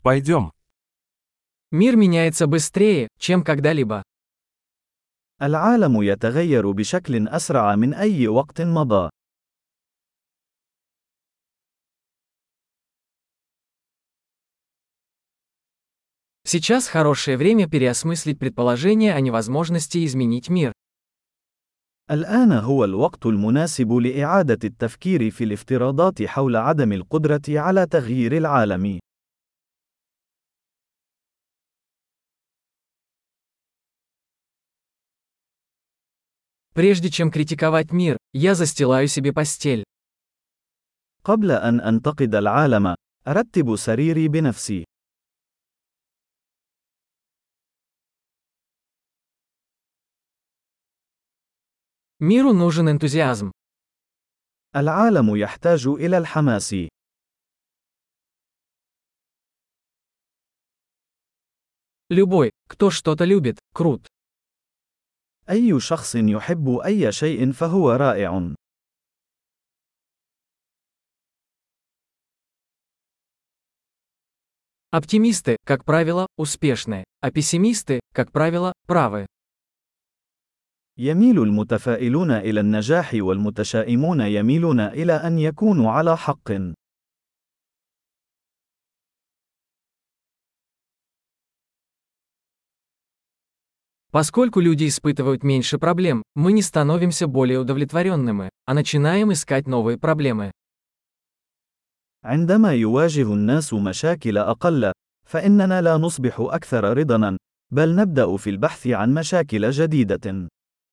Пойдем. Мир меняется быстрее, чем когда-либо. العالم يتغير بشكل أسرع من أي وقت مضى. Сейчас хорошее время переосмыслить предположение о невозможности изменить мир. الآن هو الوقت المناسب لإعادة التفكير في الافتراضات حول عدم القدرة على تغيير العالم. Прежде чем критиковать мир, я застилаю себе постель. قبل أن أنتقد العالم، أرتب سريري بنفسي. Миру нужен энтузиазм. العالم يحتاج إلى الحماس. Любой, кто что-то любит, крут. أي شخص يحب أي شيء فهو رائع. Оптимисты, как правило, успешны, а пессимисты, как правило, правы. يميل المتفائلون إلى النجاح والمتشائمون يميلون إلى أن يكونوا على حق. Поскольку люди испытывают меньше проблем, мы не становимся более удовлетворенными, а начинаем искать новые проблемы. عندما يواجه الناس مشاكل أقل، فإننا لا نصبح أكثر رضاً، بل نبدأ في البحث عن مشاكل جديدة.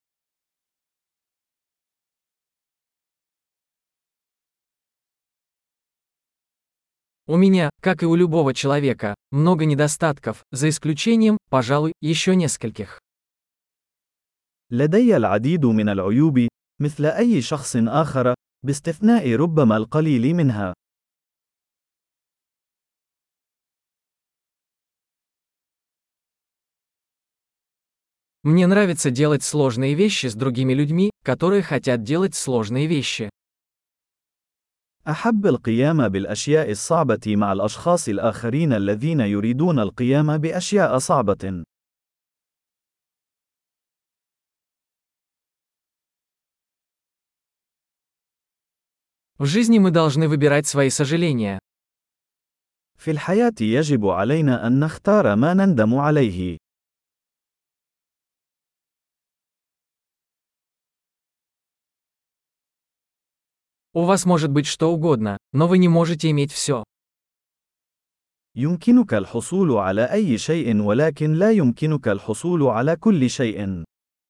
У меня, как и у любого человека, много недостатков, за исключением, пожалуй, еще нескольких. لدي العديد من العيوب، مثل أي شخص آخر، باستثناء ربما القليل منها. Мне нравится делать сложные вещи с другими людьми, которые хотят делать сложные вещи. أحب القيام بالأشياء الصعبة مع الأشخاص الآخرين الذين يريدون القيام بأشياء صعبة. В жизни мы должны выбирать свои сожаления. في الحياة يجب علينا أن نختار ما نندم عليه. У вас может быть что угодно, но вы не можете иметь все. يمكنك الحصول على أي شيء ولكن لا يمكنك الحصول على كل شيء.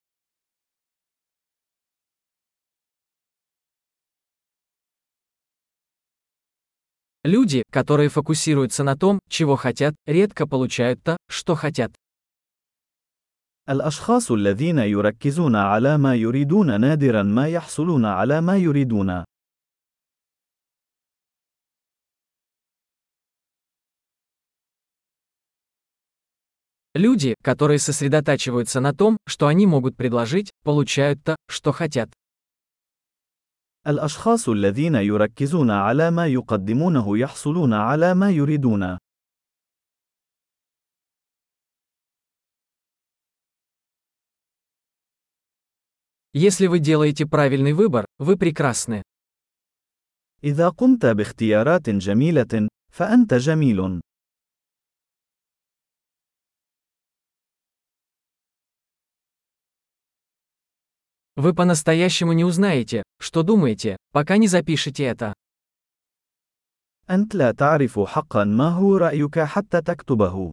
Люди, которые фокусируются на том, чего хотят, редко получают то, что хотят. الأشخاص الذين يركزون على ما يريدون نادراً ما يحصلون على ما يريدون. Люди, которые сосредотачиваются на том, что они могут предложить, получают то, что хотят. الأشخاص الذين يركزون على ما يقدمونه يحصلون على ما يريدون. Если вы делаете правильный выбор, вы прекрасны. إذا قمت باختيارات جميلة، فأنت جميل. Вы по-настоящему не узнаете, что думаете, пока не запишете это. أنت لا تعرف حقاً ما هو رأيك حتى تكتبه.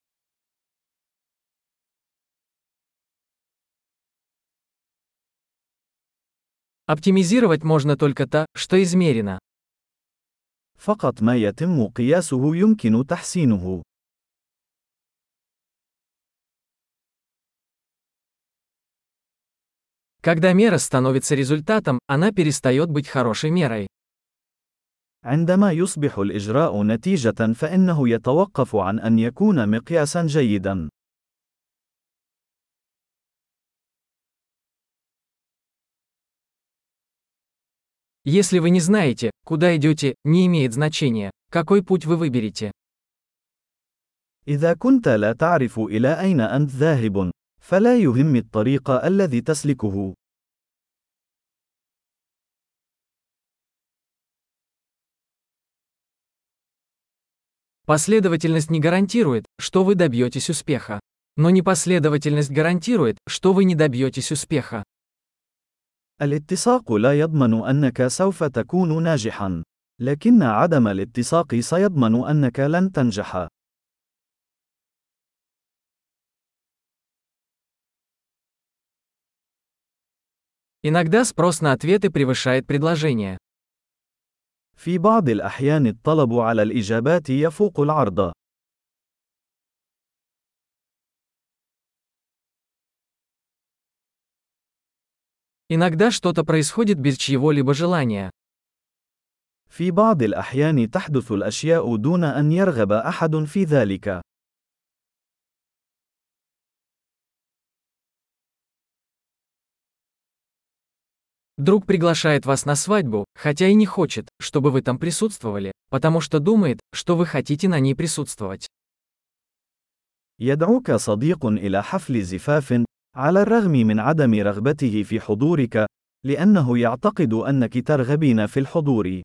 Оптимизировать можно только то, что измерено. فقط ما يتم قياسه يمكن تحسينه. Когда мера становится результатом, она перестает быть хорошей мерой. عندما يصبح الإجراء نتيجة فإنه يتوقف عن أن يكون مقياساً جيداً. Если вы не знаете, куда идете, не имеет значения, какой путь вы выберете. إذا كنت لا تعرف إلى أين أنت ذاهب، فلا يهم الطريق الذي تسلكه. Последовательность не гарантирует, что вы добьетесь успеха. Но непоследовательность гарантирует, что вы не добьетесь успеха. الاتساق لا يضمن أنك سوف تكون ناجحا، لكن عدم الاتساق سيضمن أنك لن تنجح. Иногда спрос на ответы превышает предложение. في بعض الأحيان الطلب على الإجابات يفوق العرض. Иногда что-то происходит без чьего-либо желания. في بعض الأحيان تحدث الأشياء دون أن يرغب أحد في ذلك. Друг приглашает вас на свадьбу, хотя и не хочет, чтобы вы там присутствовали, потому что думает, что вы хотите на ней присутствовать. يدعوك صديق إلى حفل زفاف، على الرغم من عدم رغبته في حضورك، لأنه يعتقد أنك ترغبين في الحضور.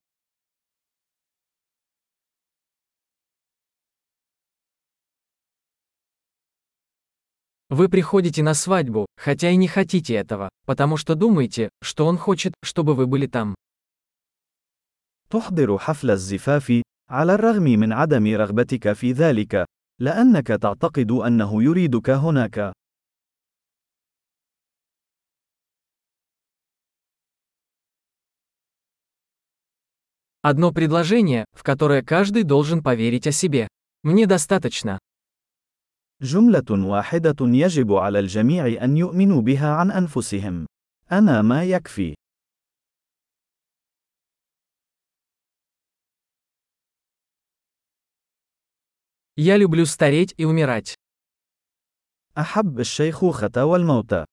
Вы приходите на свадьбу, хотя и не хотите этого, потому что думаете, что он хочет, чтобы вы были там. تحضر حفل الزفاف، على الرغم من عدم رغبتك في ذلك، لأنك تعتقد أنه يريدك هناك. Одно предложение, в которое каждый должен поверить о себе. Мне достаточно. جملة واحدة يجب على الجميع أن يؤمنوا بها عن أنفسهم. أنا ما يكفي. Я люблю стареть и умирать. أحب الشيخوخة والموت.